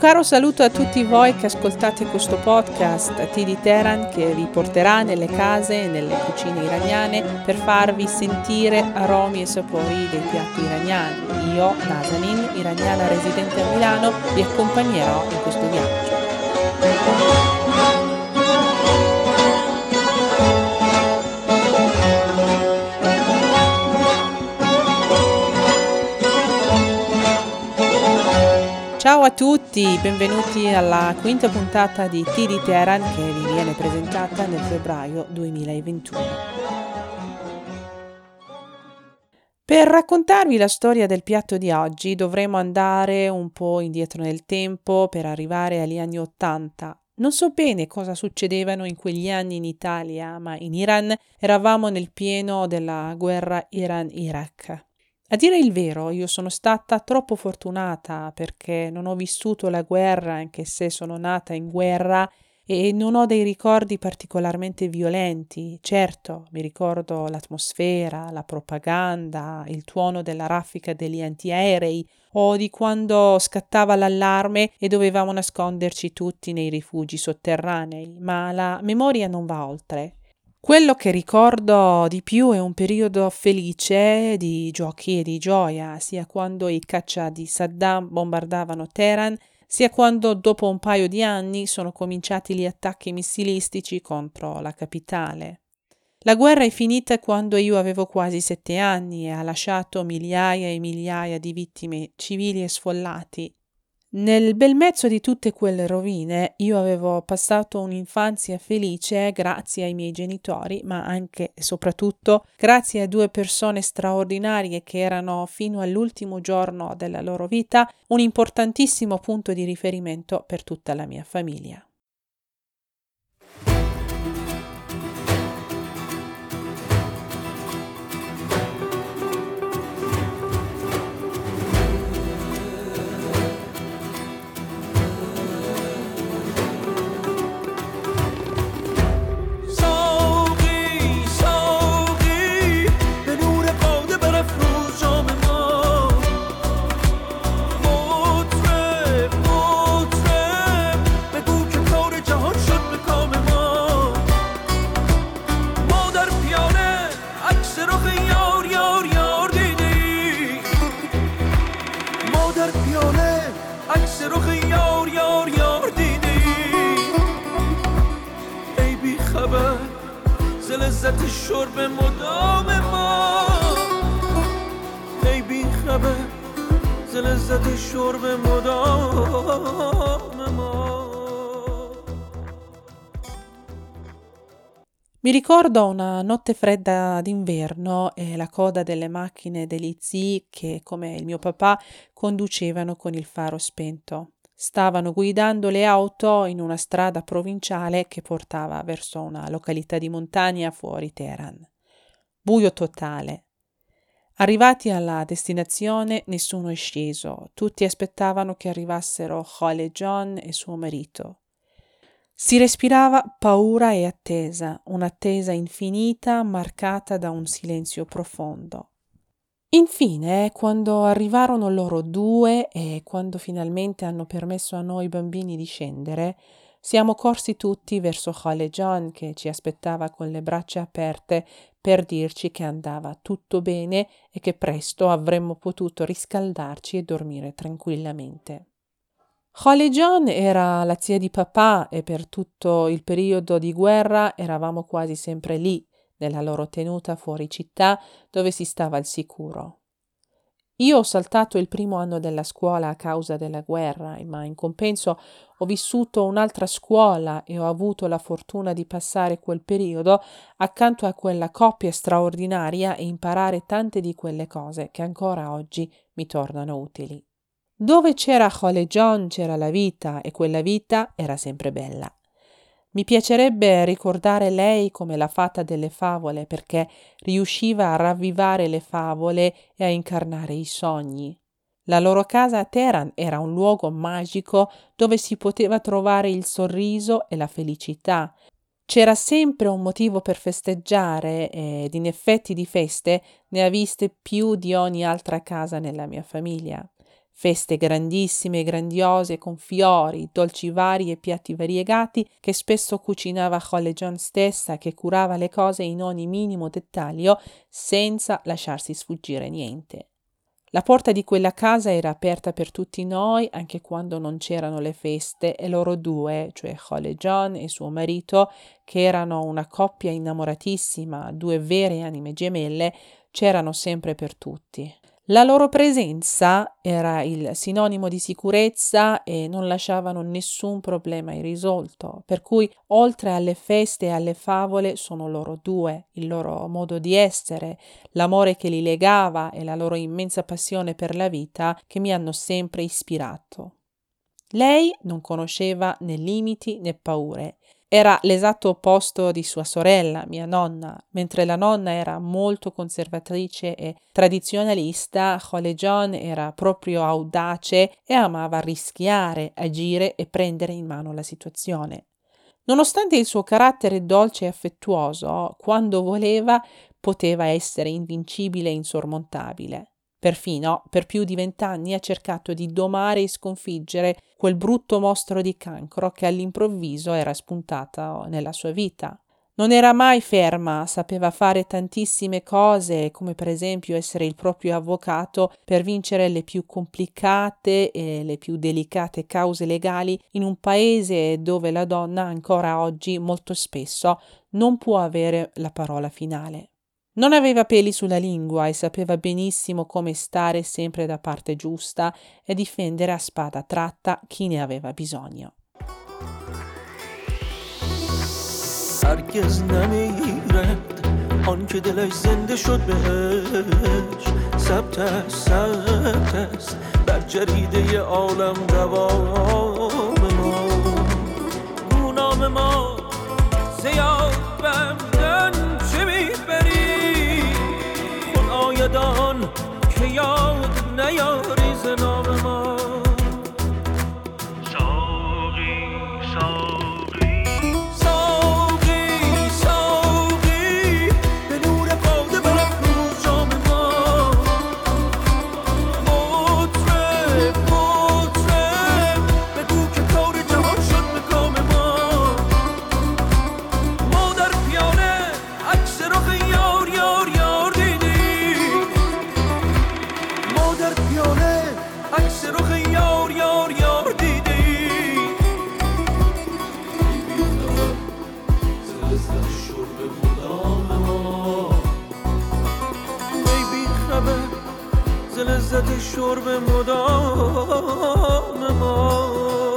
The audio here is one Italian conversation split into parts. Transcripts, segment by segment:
caro saluto a tutti voi che ascoltate questo podcast Tea di Teheran, che vi porterà nelle case e nelle cucine iraniane per farvi sentire aromi e sapori dei piatti iraniani. Io, Nazanin, iraniana residente a Milano, vi accompagnerò in questo viaggio. Ciao a tutti, benvenuti alla quinta puntata di Tea di Teheran che vi viene presentata nel febbraio 2021. Per raccontarvi la storia del piatto di oggi dovremo andare un po' indietro nel tempo per arrivare agli anni '80. Non so bene cosa succedevano in quegli anni in Italia, ma in Iran eravamo nel pieno della guerra Iran-Iraq. A dire il vero, io sono stata troppo fortunata perché non ho vissuto la guerra, anche se sono nata in guerra, e non ho dei ricordi particolarmente violenti. Certo, mi ricordo l'atmosfera, la propaganda, il tuono della raffica degli antiaerei o di quando scattava l'allarme e dovevamo nasconderci tutti nei rifugi sotterranei, ma la memoria non va oltre. Quello che ricordo di più è un periodo felice di giochi e di gioia, sia quando i caccia di Saddam bombardavano Teheran, sia quando dopo un paio di anni sono cominciati gli attacchi missilistici contro la capitale. La guerra è finita quando io avevo quasi 7 anni e ha lasciato migliaia e migliaia di vittime civili e sfollati. Nel bel mezzo di tutte quelle rovine io avevo passato un'infanzia felice grazie ai miei genitori, ma anche e soprattutto grazie a 2 persone straordinarie che erano fino all'ultimo giorno della loro vita un importantissimo punto di riferimento per tutta la mia famiglia. لذت شرب مدام ما ای بی خبر ز لذت شرب مدام ما. Mi ricordo una notte fredda d'inverno e la coda delle macchine degli zii che, come il mio papà, conducevano con il faro spento. Stavano guidando le auto in una strada provinciale che portava verso una località di montagna fuori Teheran. Buio totale. Arrivati alla destinazione nessuno è sceso, tutti aspettavano che arrivassero Khaled e suo marito. Si respirava paura e attesa, un'attesa infinita marcata da un silenzio profondo. Infine, quando arrivarono loro due e quando finalmente hanno permesso a noi bambini di scendere, siamo corsi tutti verso Khaled che ci aspettava con le braccia aperte per dirci che andava tutto bene e che presto avremmo potuto riscaldarci e dormire tranquillamente. Khaled era la zia di papà e per tutto il periodo di guerra eravamo quasi sempre lì, nella loro tenuta fuori città dove si stava al sicuro. Io ho saltato il primo anno della scuola a causa della guerra, ma in compenso ho vissuto un'altra scuola e ho avuto la fortuna di passare quel periodo accanto a quella coppia straordinaria e imparare tante di quelle cose che ancora oggi mi tornano utili. Dove c'era Khaled c'era la vita e quella vita era sempre bella. Mi piacerebbe ricordare lei come la fata delle favole perché riusciva a ravvivare le favole e a incarnare i sogni. La loro casa a Teheran era un luogo magico dove si poteva trovare il sorriso e la felicità. C'era sempre un motivo per festeggiare ed in effetti di feste ne ha viste più di ogni altra casa nella mia famiglia. Feste grandissime e grandiose con fiori, dolci vari e piatti variegati che spesso cucinava Khole John stessa, che curava le cose in ogni minimo dettaglio senza lasciarsi sfuggire niente. La porta di quella casa era aperta per tutti noi anche quando non c'erano le feste e loro due, cioè Khole John e suo marito, che erano una coppia innamoratissima, due vere anime gemelle, c'erano sempre per tutti. La loro presenza era il sinonimo di sicurezza e non lasciavano nessun problema irrisolto, per cui oltre alle feste e alle favole sono loro due, il loro modo di essere, l'amore che li legava e la loro immensa passione per la vita che mi hanno sempre ispirato. Lei non conosceva né limiti né paure. Era l'esatto opposto di sua sorella, mia nonna. Mentre la nonna era molto conservatrice e tradizionalista, Khole John era proprio audace e amava rischiare, agire e prendere in mano la situazione. Nonostante il suo carattere dolce e affettuoso, quando voleva poteva essere invincibile e insormontabile. Perfino per più di 20 anni ha cercato di domare e sconfiggere quel brutto mostro di cancro che all'improvviso era spuntato nella sua vita. Non era mai ferma, sapeva fare tantissime cose, come per esempio essere il proprio avvocato per vincere le più complicate e le più delicate cause legali in un paese dove la donna ancora oggi molto spesso non può avere la parola finale. Non aveva peli sulla lingua e sapeva benissimo come stare sempre da parte giusta e difendere a spada tratta chi ne aveva bisogno. هرگز نمیرد آن که دلش زنده شد بهش ثبت است بر جریده عالم دوام ما گونام ما زیاد بمدن چه میبری خون آیدان که یاد نیاری ز نام ما لذت شرب مدام ما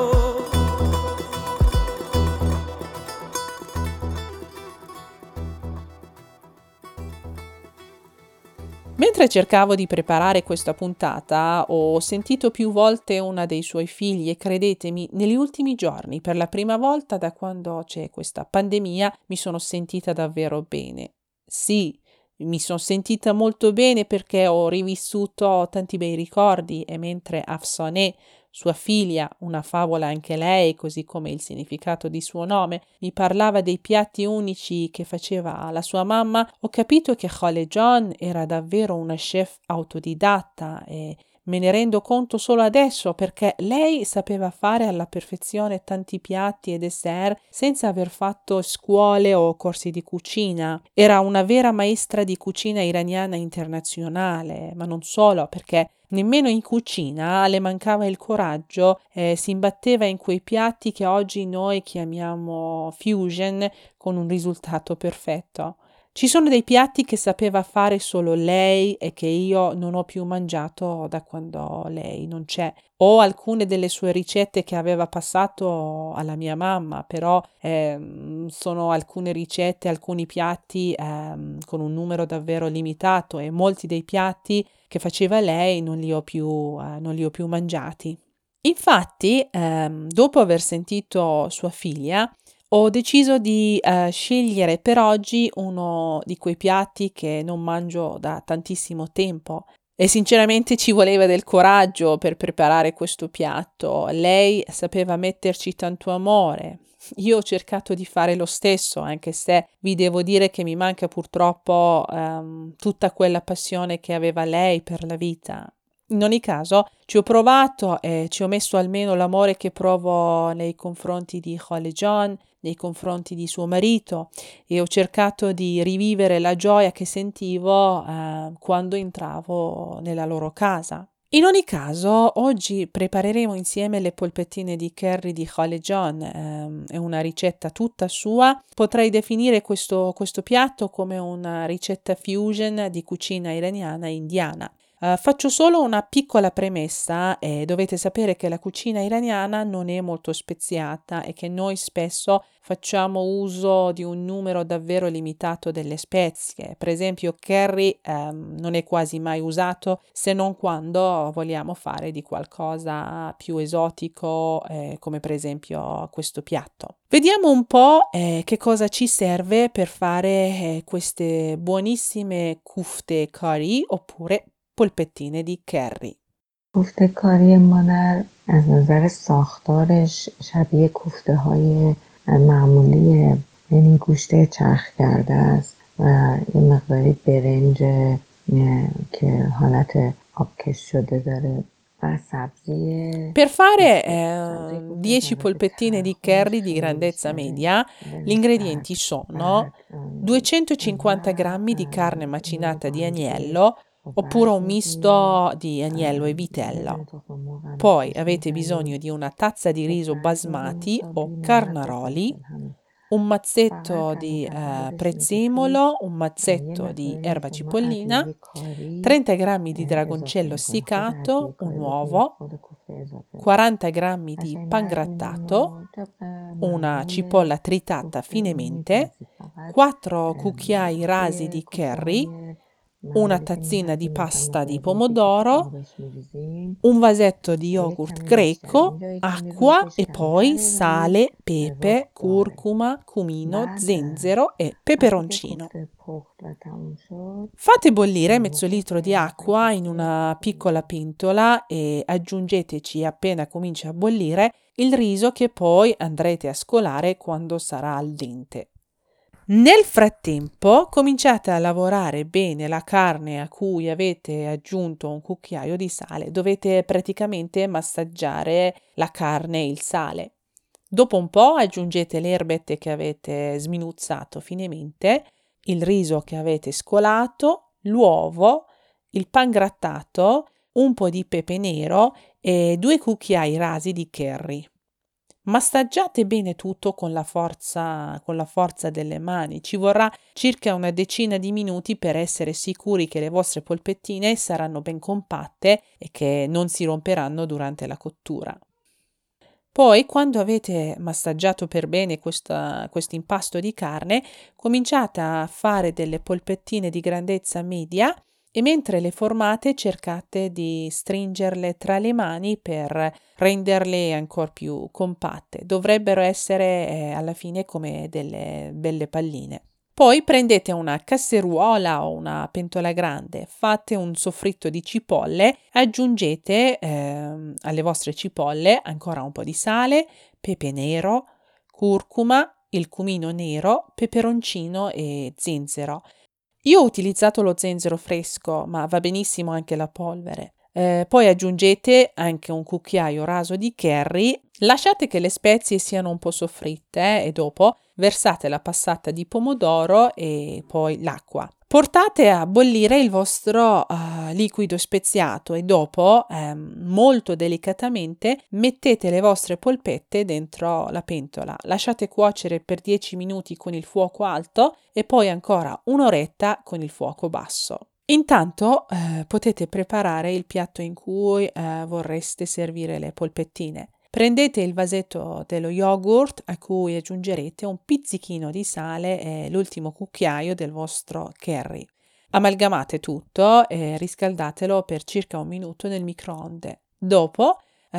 Mentre cercavo di preparare questa puntata, ho sentito più volte una dei suoi figli e credetemi, negli ultimi giorni, per la prima volta da quando c'è questa pandemia, mi sono sentita davvero bene. Sì, mi sono sentita molto bene perché ho rivissuto tanti bei ricordi e mentre Afsaneh, sua figlia, una favola anche lei, così come il significato di suo nome, mi parlava dei piatti unici che faceva la sua mamma, ho capito che Khole John era davvero una chef autodidatta e me ne rendo conto solo adesso perché lei sapeva fare alla perfezione tanti piatti e dessert senza aver fatto scuole o corsi di cucina. Era una vera maestra di cucina iraniana internazionale, ma non solo, perché nemmeno in cucina le mancava il coraggio e si imbatteva in quei piatti che oggi noi chiamiamo fusion con un risultato perfetto. Ci sono dei piatti che sapeva fare solo lei e che io non ho più mangiato da quando lei non c'è. O alcune delle sue ricette che aveva passato alla mia mamma, però sono alcune ricette, alcuni piatti con un numero davvero limitato e molti dei piatti che faceva lei non li ho più mangiati. Infatti, dopo aver sentito sua figlia, ho deciso di scegliere per oggi uno di quei piatti che non mangio da tantissimo tempo e sinceramente ci voleva del coraggio per preparare questo piatto. Lei sapeva metterci tanto amore. Io ho cercato di fare lo stesso, anche se vi devo dire che mi manca purtroppo tutta quella passione che aveva lei per la vita. In ogni caso, ci ho provato e ci ho messo almeno l'amore che provo nei confronti di Khalejan, nei confronti di suo marito, e ho cercato di rivivere la gioia che sentivo quando entravo nella loro casa. In ogni caso, oggi prepareremo insieme le polpettine di curry di Khalejan, è una ricetta tutta sua. Potrei definire questo piatto come una ricetta fusion di cucina iraniana e indiana. Faccio solo una piccola premessa e dovete sapere che la cucina iraniana non è molto speziata e che noi spesso facciamo uso di un numero davvero limitato delle spezie. Per esempio, curry non è quasi mai usato se non quando vogliamo fare di qualcosa più esotico, come per esempio questo piatto. Vediamo un po' che cosa ci serve per fare queste buonissime kufte curry oppure polpettine di curry. کوفته کاری مادر از نظر ساختارش شبیه کوفته های معمولیه، یعنی گوشت چرخ کرده است و یه مقداری برنج که حالت آبکش شده داره و سبزی. Per fare 10 polpettine di curry di grandezza media, gli ingredienti sono 250 g di carne macinata di agnello, oppure un misto di agnello e vitello. Poi avete bisogno di una tazza di riso basmati o carnaroli, un mazzetto di prezzemolo, un mazzetto di erba cipollina, 30 g di dragoncello essiccato, un uovo, 40 g di pangrattato, una cipolla tritata finemente, 4 cucchiai rasi di curry, una tazzina di pasta di pomodoro, un vasetto di yogurt greco, acqua e poi sale, pepe, curcuma, cumino, zenzero e peperoncino. Fate bollire mezzo litro di acqua in una piccola pentola e aggiungeteci appena comincia a bollire il riso che poi andrete a scolare quando sarà al dente. Nel frattempo cominciate a lavorare bene la carne a cui avete aggiunto un cucchiaio di sale. Dovete praticamente massaggiare la carne e il sale. Dopo un po' aggiungete le erbette che avete sminuzzato finemente, il riso che avete scolato, l'uovo, il pangrattato, un po' di pepe nero e 2 cucchiai rasi di curry. Massaggiate bene tutto con la forza delle mani. Ci vorrà circa una decina di minuti per essere sicuri che le vostre polpettine saranno ben compatte e che non si romperanno durante la cottura. Poi, quando avete massaggiato per bene questo impasto di carne, cominciate a fare delle polpettine di grandezza media e mentre le formate cercate di stringerle tra le mani per renderle ancora più compatte. Dovrebbero essere alla fine come delle belle palline. Poi prendete una casseruola o una pentola grande, fate un soffritto di cipolle, aggiungete alle vostre cipolle ancora un po' di sale, pepe nero, curcuma, il cumino nero, peperoncino e zenzero. Io ho utilizzato lo zenzero fresco, ma va benissimo anche la polvere. Poi aggiungete anche un cucchiaio raso di curry, lasciate che le spezie siano un po' soffritte e dopo versate la passata di pomodoro e poi l'acqua. Portate a bollire il vostro liquido speziato e dopo, molto delicatamente, mettete le vostre polpette dentro la pentola. Lasciate cuocere per 10 minuti con il fuoco alto e poi ancora un'oretta con il fuoco basso. Intanto potete preparare il piatto in cui vorreste servire le polpettine. Prendete il vasetto dello yogurt a cui aggiungerete un pizzichino di sale e l'ultimo cucchiaio del vostro curry. Amalgamate tutto e riscaldatelo per circa 1 minuto nel microonde. Dopo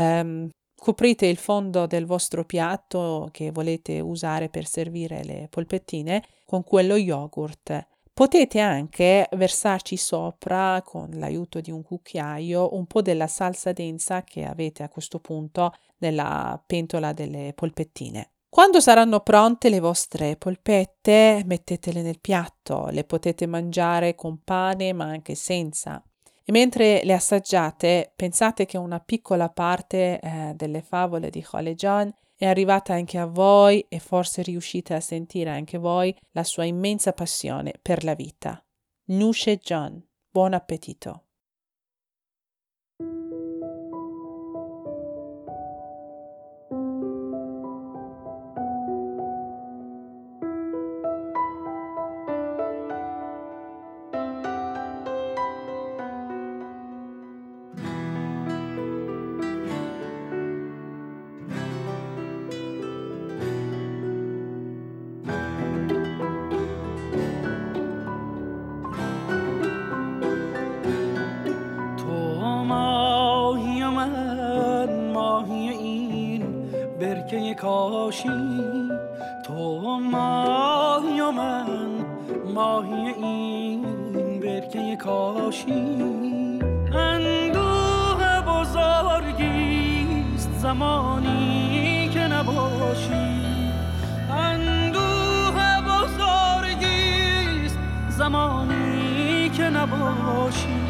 coprite il fondo del vostro piatto che volete usare per servire le polpettine con quello yogurt. Potete anche versarci sopra, con l'aiuto di un cucchiaio, un po' della salsa densa che avete a questo punto nella pentola delle polpettine. Quando saranno pronte le vostre polpette, mettetele nel piatto. Le potete mangiare con pane, ma anche senza. E mentre le assaggiate, pensate che una piccola parte delle favole di Khalejan è arrivata anche a voi e forse riuscite a sentire anche voi la sua immensa passione per la vita. Noosh Jan, buon appetito! کاشی تو ماهی و من ماهی این برکه کاشی اندوه بزرگیست زمانی که نباشی اندوه بزرگیست زمانی که نباشی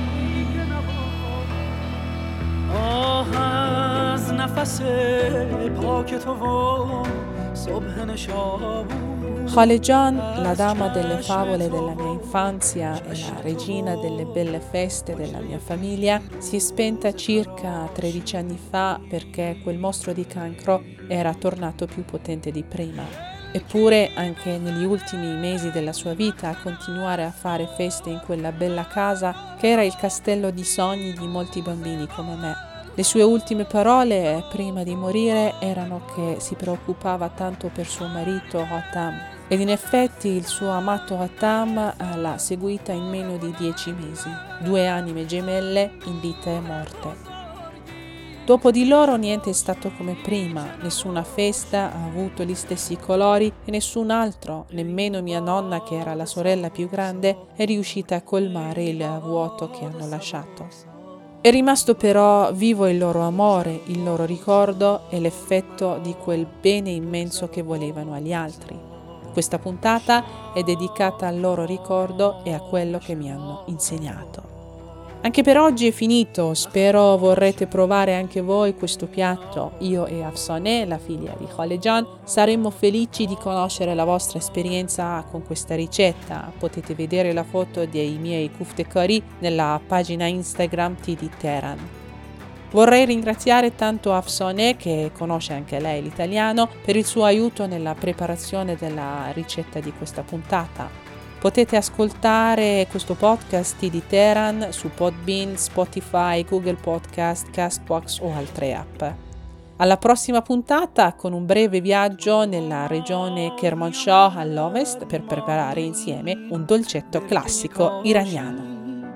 آه از نفس پاک تو و صبح نشابور. Khalejan, la dama delle favole della mia infanzia e la regina delle belle feste della mia famiglia, si è spenta circa 13 anni fa perché quel mostro di cancro era tornato più potente di prima. Eppure, anche negli ultimi mesi della sua vita, a continuare a fare feste in quella bella casa che era il castello di sogni di molti bambini come me. Le sue ultime parole prima di morire erano che si preoccupava tanto per suo marito Hotam, ed in effetti il suo amato Hotam l'ha seguita in meno di 10 mesi, 2 anime gemelle in vita e morte. Dopo di loro niente è stato come prima, nessuna festa ha avuto gli stessi colori e nessun altro, nemmeno mia nonna che era la sorella più grande, è riuscita a colmare il vuoto che hanno lasciato. È rimasto però vivo il loro amore, il loro ricordo e l'effetto di quel bene immenso che volevano agli altri. Questa puntata è dedicata al loro ricordo e a quello che mi hanno insegnato. Anche per oggi è finito, spero vorrete provare anche voi questo piatto. Io e Afsaneh, la figlia di Khalejan, saremmo felici di conoscere la vostra esperienza con questa ricetta. Potete vedere la foto dei miei kufte curry nella pagina Instagram di Teheran. Vorrei ringraziare tanto Afsaneh, che conosce anche lei l'italiano, per il suo aiuto nella preparazione della ricetta di questa puntata. Potete ascoltare questo podcast di Teheran su Podbean, Spotify, Google Podcast, Castbox o altre app. Alla prossima puntata con un breve viaggio nella regione Kermanshah all'ovest per preparare insieme un dolcetto classico iraniano.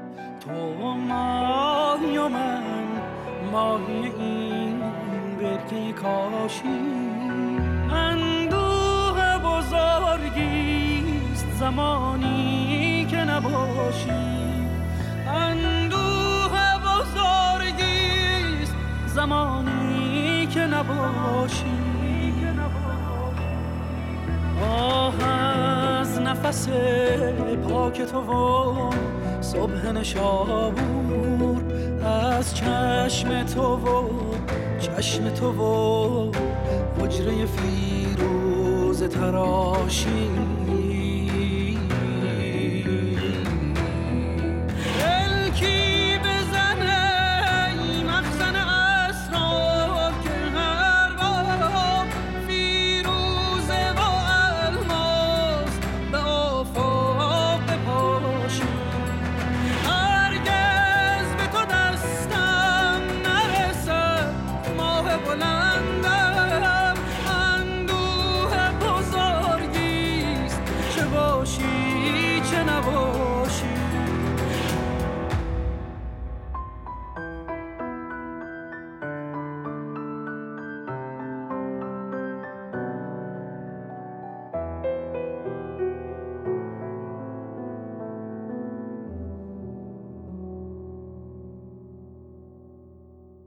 زمانی که نباشی اندوه بزرگیست زمانی که نباشی آه از نفس پاک تو و صبح نشابور از چشم تو و حجره فیروز تراشی